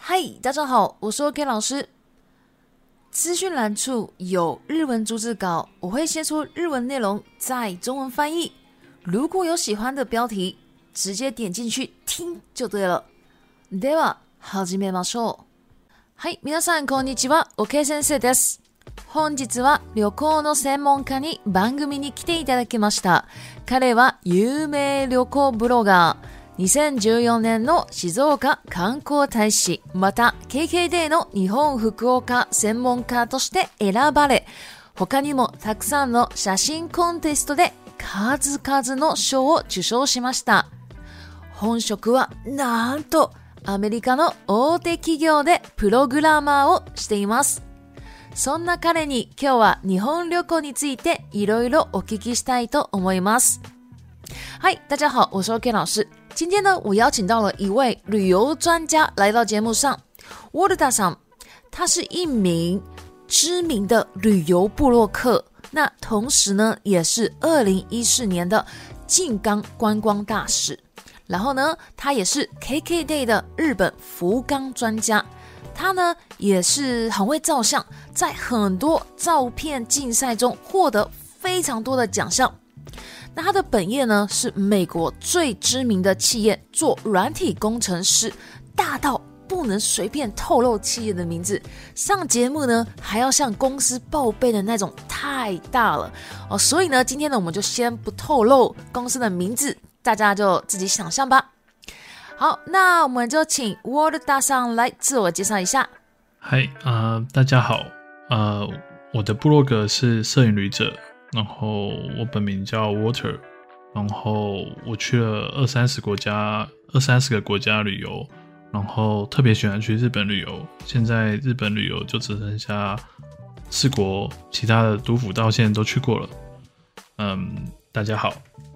嗨，大家好，我是 OK 老师。资讯栏处有日文逐字稿，我会先出日文内容，再中文翻译。如果有喜欢的标题，直接点进去听就对了。では始めましょう。はい、皆さんこんにちは、OK 先生です。本日は旅行の専門家に番組に来ていただきました。彼は有名旅行ブロガー。2014年の静岡観光大使、また KKday の日本福岡専門家として選ばれ、他にもたくさんの写真コンテストで数々の賞を受賞しました。本職はなんとアメリカの大手企業でプログラマーをしています。そんな彼に今日は日本旅行についていろいろお聞きしたいと思います。嗨，大家好，我是 OK 老师。今天呢，我邀请到了一位旅游专家来到节目上。Walterさん，他是一名知名的旅游部落客，那同时呢，也是2014年的静冈观光大使。然后呢，他也是 KKday 的日本福冈专家。他呢，也是很会照相，在很多照片竞赛中获得非常多的奖项。那他的本业呢，是美国最知名的企业做软体工程师，大到不能随便透露企业的名字，上节目呢还要向公司报备的那种，太大了哦。所以呢，今天呢我们就先不透露公司的名字，大家就自己想象吧。好，那我们就请 Walter さん来自我介绍一下。 嗨，大家好，我的部落格是摄影旅者。然后我本名叫 Walter， 然后我去了二三十个国家旅游，然后特别喜欢去日本旅游。现在日本旅游就只剩下4国，其他的都府道县都去过了。大家好。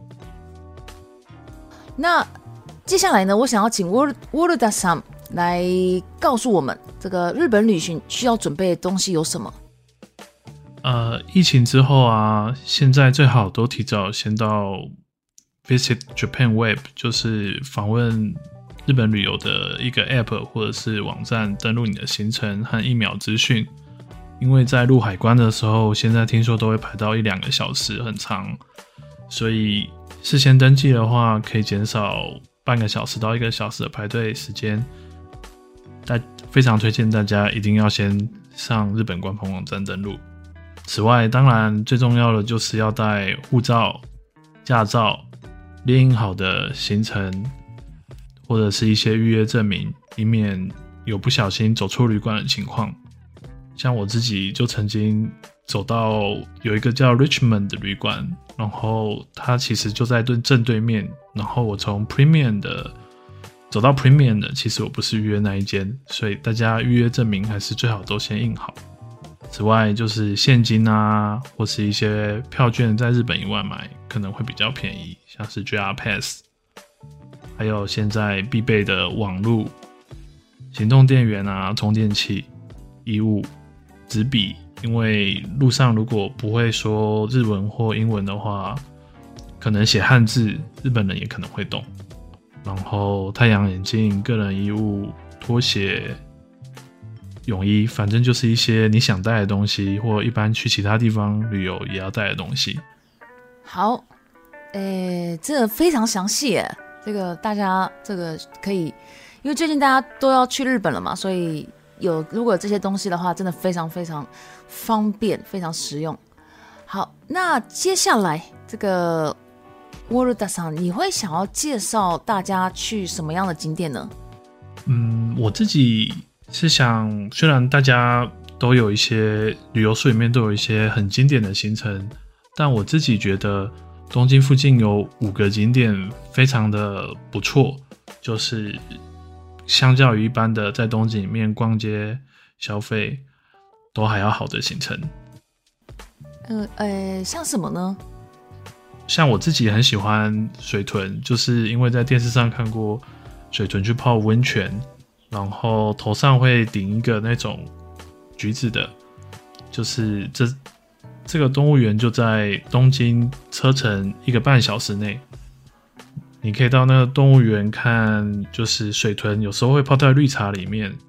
那接下来呢，我想要请 Walter さん来告诉我们，这个日本旅行需要准备的东西有什么？ 疫情之后啊，现在最好都提早先到 Visit Japan Web， 就是访问日本旅游的一个 App 或者是网站，登录你的行程和疫苗资讯。因为在入海关的时候，现在听说都会排到1-2个小时，很长，所以事先登记的话，可以减少半个小时到1个小时的排队时间。非常推荐大家一定要先上日本官方网站登录。此外，当然最重要的就是要带护照、驾照、列印好的行程，或者是一些预约证明，以免有不小心走错旅馆的情况。像我自己就曾经走到有一个叫 Richmond 的旅馆，然后它其实就在正对面，然后我从 Premium 的走到 Premium 的，其实我不是预约那一间，所以大家预约证明还是最好都先印好。此外就是现金啊，或是一些票券，在日本以外买可能会比较便宜，像是 JR Pass， 还有现在必备的网路、行动电源啊、充电器、衣物、纸笔，因为路上如果不会说日文或英文的话，可能写汉字，日本人也可能会懂。然后太阳眼镜、个人衣物、拖鞋、泳衣，反正就是一些你想带的东西，或一般去其他地方旅游也要带的东西。 好，这个非常详细耶，这个大家这个可以，因为最近大家都要去日本了嘛，所以如果有这些东西的话，真的非常非常方便，非常实用。好，那接下来这个 Walter さん，你会想要介绍大家去什么样的景点呢？ 我自己是想，虽然大家都有一些旅游书里面都有一些很经典的行程，但我自己觉得东京附近有5个景点非常的不错，就是相较于一般的在东京里面逛街消费都还要好的行程。 像什么呢？ 像我自己很喜欢水豚，就是因为在电视上看过水豚去泡温泉，然后头上会顶一个那种橘子的，就是这个动物园就在东京车程1个半小时内，你可以到那个动物园看，就是水豚有时候会泡在绿茶里面，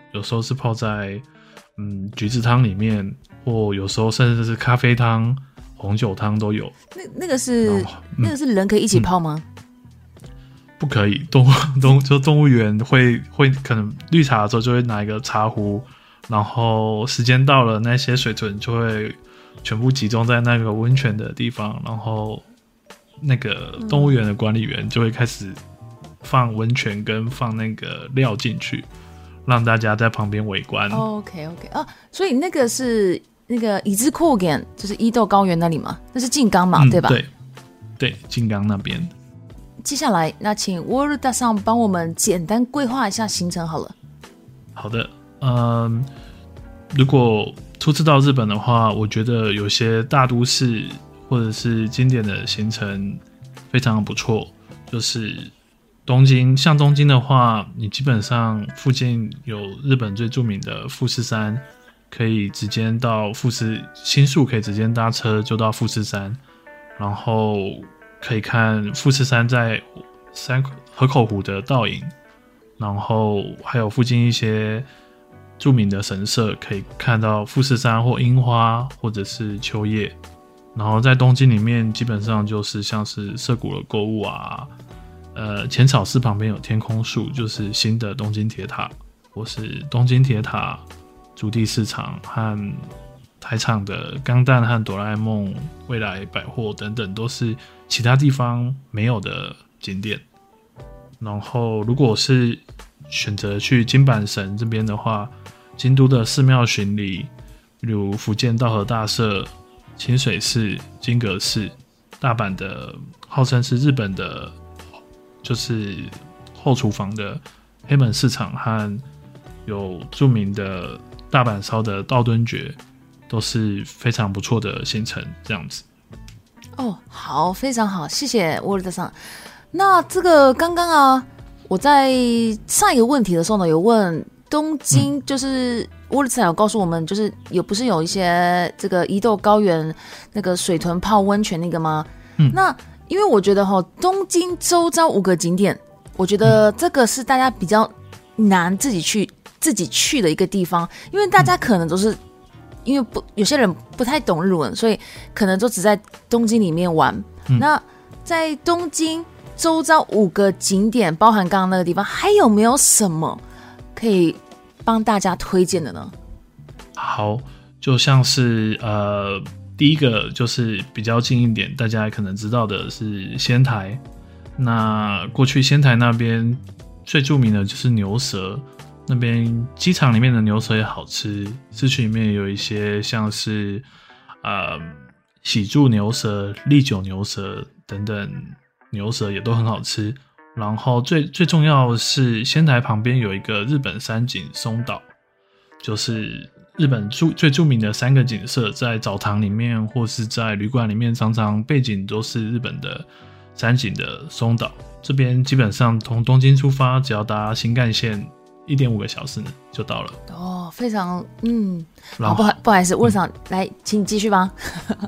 有时候是泡在橘子汤里面，或有时候甚至是咖啡汤、红酒汤都有。 那个是人可以一起泡吗？ 不可以，动物园会可能绿茶的时候就会拿一个茶壶，然后时间到了，那些水豚就会全部集中在那个温泉的地方，然后那个动物园的管理员就会開始放温泉跟放那个料进去，让大家在旁边围观。 OK 啊，所以那个是那个伊之高原，就是伊豆高原那里嘛，那是静冈嘛，对吧？ 对，静冈那边。 接下来，那请沃尔达上帮我们简单规划一下行程好了。 好的，如果初次到日本的话，我觉得有些大都市或者是经典的行程非常不错，就是东京。像东京的话，你基本上附近有日本最著名的富士山，可以直接到新宿，可以直接搭车就到富士山，然后可以看富士山在河口湖的倒影，然后还有附近一些著名的神社，可以看到富士山或樱花或者是秋叶。然后在东京里面基本上就是像是涩谷的购物啊，浅草寺旁边有天空树，就是新的东京铁塔，或是东京铁塔、筑地市场和台场的钢弹和哆啦 A 梦、未来百货等等，都是其他地方没有的景点。然后如果是选择去京阪神这边的话，京都的寺庙巡礼，例如福建道和大社、清水寺、金阁寺，大阪的号称是日本的就是后厨房的黑门市场，和有著名的大阪烧的道顿崛，都是非常不错的行程，这样子。 好，非常好，谢谢沃尔德桑。那这个刚刚啊，我在上一个问题的时候呢，有问东京，就是沃尔德桑有告诉我们，就是不是有一些这个伊豆高原那个水豚泡温泉那个吗？那因为我觉得东京周遭5个景点，我觉得这个是大家比较难自己去的一个地方，因为大家可能都是。因为有些人不太懂日文，所以可能都只在东京里面玩。那在东京周遭5个景点，包含刚刚那个地方，还有没有什么可以帮大家推荐的呢？ 好，就像是第一个就是比较近一点，大家可能知道的是仙台。那过去仙台那边最著名的就是牛舌。那边机场里面的牛舌也好吃，市区里面有一些像是喜住牛舌、利久牛舌等等牛舌也都很好吃。然后最重要的是仙台旁边有一个日本三景松岛，就是日本最著名的3个景色，在澡堂里面或是在旅馆里面，常常背景都是日本的三景的松岛。这边基本上从东京出发，只要搭新干线1.5个小时就到了。 非常不好意思，沃尔桑来，请你继续吧。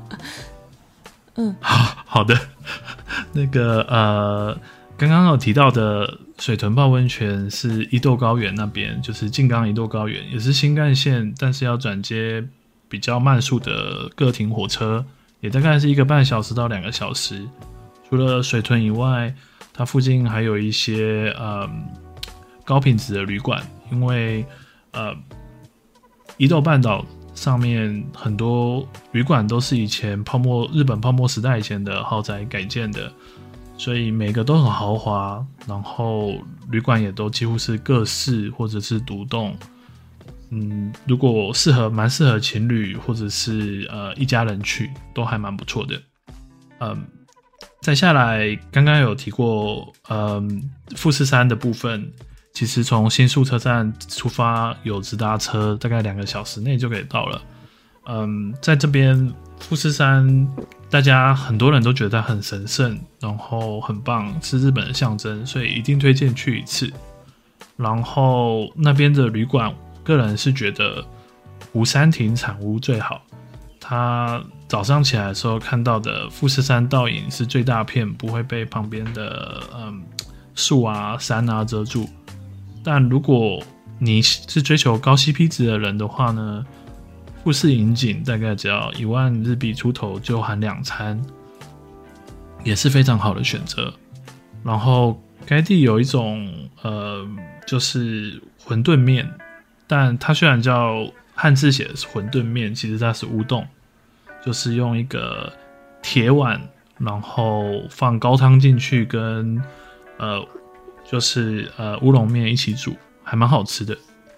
好的。那个刚刚有提到的水豚泡温泉是伊豆高原那边，就是静冈伊豆高原，也是新干线，但是要转接比较慢速的各停火车，也大概是1个半小时到2个小时。除了水豚以外，它附近还有一些高品质的旅馆，因为伊豆半岛上面很多旅馆都是以前日本泡沫时代以前的豪宅改建的，所以每个都很豪华，然后旅馆也都几乎是各室或者是独栋。如果蛮适合情侣或者是一家人去，都还蛮不错的。再下来刚刚有提过富士山的部分，其实从新宿车站出发有直达车，大概2个小时内就可以到了。在这边富士山，大家很多人都觉得它很神圣，然后很棒，是日本的象征，所以一定推荐去一次。然后那边的旅馆，个人是觉得湖山亭产屋最好。他早上起来的时候看到的富士山倒影是最大片，不会被旁边的树啊山啊遮住。但如果你是追求高 CP 值的人的话呢，富士引景大概只要1万日币出头就含2餐，也是非常好的选择。然后该地有一种就是馄饨面，但它虽然叫汉字写的是馄饨面，其实它是乌冬，就是用一个铁碗，然后放高汤进去，跟就是乌龙面一起煮，还蛮好吃的。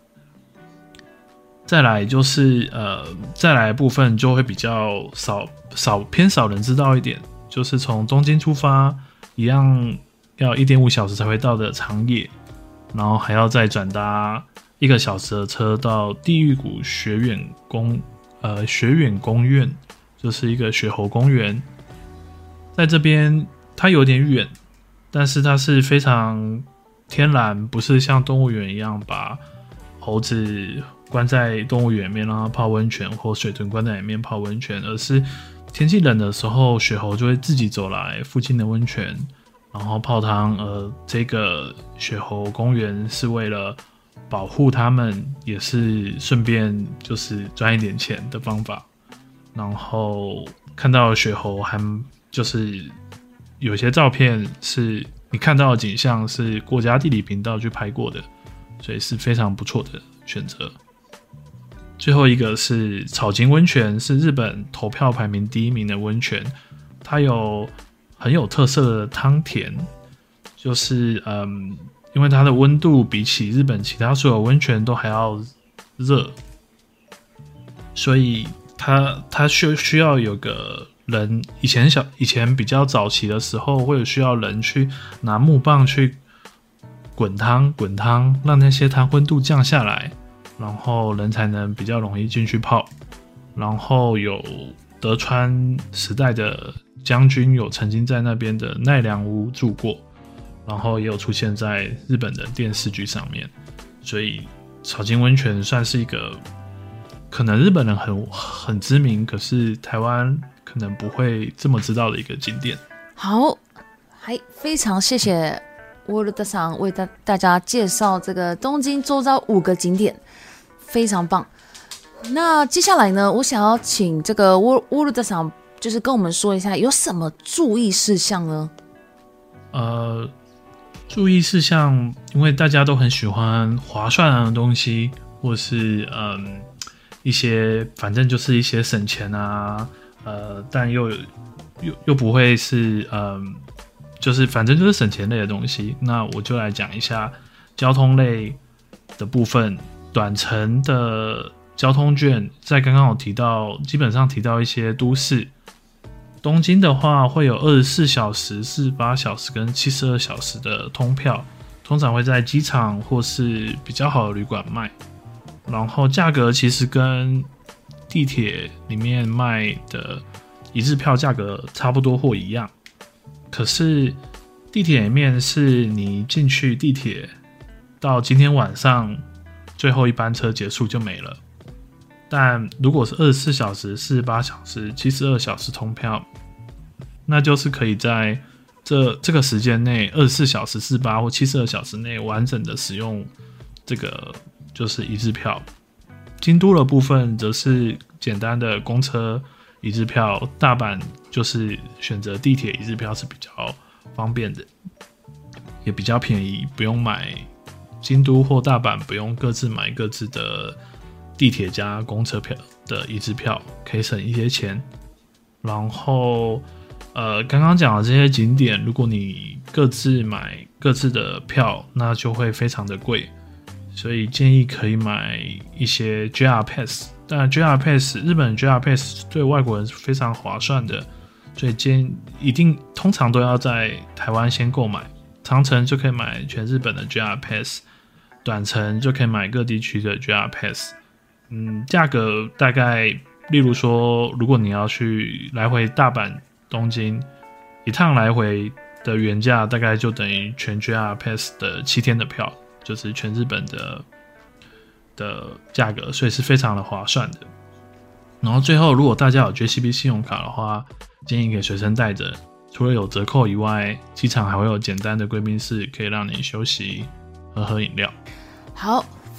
再来就是再来的部分就会比较偏少人知道一点，就是从东京出发，一样要1.5小时才会到的长野，然后还要再转搭1个小时的车到地狱谷学园公园，就是一个雪猴公园。在这边它有点远，但是它是非常天然，不是像动物园一样把猴子关在动物园里面让它泡温泉，或水豚关在里面泡温泉，而是天气冷的时候，雪猴就会自己走来附近的温泉，然后泡汤。这个雪猴公园是为了保护它们，也是顺便就是赚一点钱的方法。然后看到雪猴还就是有些照片是你看到的景象是国家地理频道去拍过的，所以是非常不错的选择。最后一个是草津温泉，是日本投票排名第1名的温泉，它有很有特色的汤田，就是因为它的温度比起日本其他所有温泉都还要热，所以它需要有个人，以前比较早期的时候会有需要人去拿木棒去滚汤，让那些汤温度降下来，然后人才能比较容易进去泡。然后有德川时代的将军有曾经在那边的奈良屋住过，然后也有出现在日本的电视剧上面，所以草津温泉算是一个可能日本人很知名，可是台湾可能不会这么知道的一个景点。 好，还非常谢谢Worldさん为大家介绍这个东京周遭5个景点，非常棒。那接下来呢，我想要请这个 Worldさん就是跟我们说一下有什么注意事项呢？ 注意事项，因为大家都很喜欢划算的东西，或是一些反正就是一些省钱啊，但又不会是就是反正就是省钱类的东西。那我就来讲一下交通类的部分。短程的交通券在刚刚有提到，基本上提到一些都市。东京的话会有24小时、48小时跟72小时的通票，通常会在机场或是比较好的旅馆卖。然后价格其实跟地铁里面卖的一日票价格差不多或一样，可是地铁里面是你进去地铁到今天晚上最后一班车结束就没了。但如果是24小时、48小时、72小时通票，那就是可以在这个时间内24小时、48或72小时内完整的使用这个就是一日票。京都的部分则是简单的公车一日票，大阪就是选择地铁一日票是比较方便的，也比较便宜，不用买京都或大阪不用各自买各自的地铁加公车票的一日票，可以省一些钱。然后刚刚讲的这些景点，如果你各自买各自的票，那就会非常的贵，所以建议可以买一些 JR Pass。当然 JR Pass 日本 JR Pass 对外国人是非常划算的，所以通常都要在台湾先购买。长程就可以买全日本的 JR Pass， 短程就可以买各地区的 JR Pass。价格大概，例如说，如果你要去来回大阪、东京，一趟来回的原价大概就等于全 JR Pass 的7天的票，就是全日本的价格，所以是非常的划算的。然后最后，如果大家有 JCB 信用卡的话，建议可以随身带着。除了有折扣以外，机场还会有简单的贵宾室，可以让你休息、喝饮料。 好，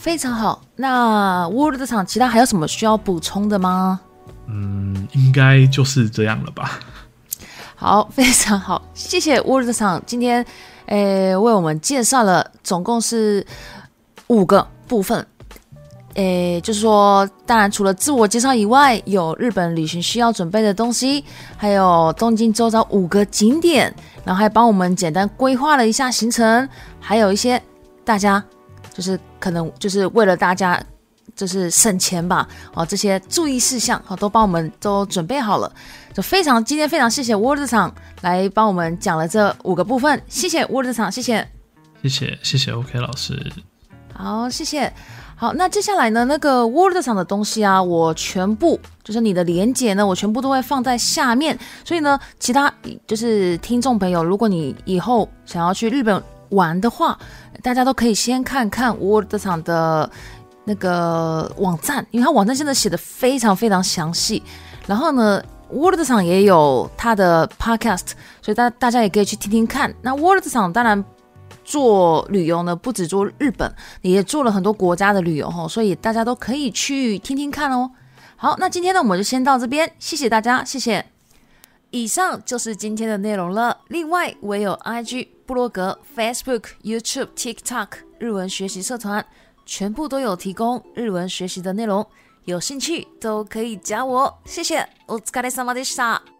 非常好。那 Word 场其他还有什么需要补充的吗？ 应该就是这样了吧。 好，非常好，谢谢 Word 场今天为我们介绍了总共是5个部分。就是说，当然除了自我介绍以外，有日本旅行需要准备的东西，还有东京周遭5个景点，然后还帮我们简单规划了一下行程，还有一些大家就是可能就是为了大家就是省钱吧，这些注意事项都帮我们都准备好了，就今天非常谢谢 Word 场来帮我们讲了这5个部分，谢谢 Word 场，谢谢 OK 老师， 好，谢谢。好，那接下来呢，那个 Word 场的东西啊，我全部就是你的连结呢，我全部都会放在下面。所以呢，其他就是听众朋友，如果你以后想要去日本玩的话，大家都可以先看看 Word 场的那个网站，因为它网站现在写的非常非常详细。然后呢，Word 场也有它的 Podcast， 所以大家也可以去听听看。那 Word 场当然做旅游呢，不只做日本，也做了很多国家的旅游，所以大家都可以去听听看哦。好，那今天呢，我们就先到这边，谢谢大家，谢谢。以上就是今天的内容了。另外，我也有 IG、部落格、Facebook、YouTube、TikTok 日文学习社团，全部都有提供日文学习的内容，有兴趣都可以加我。谢谢，お疲れ様でした。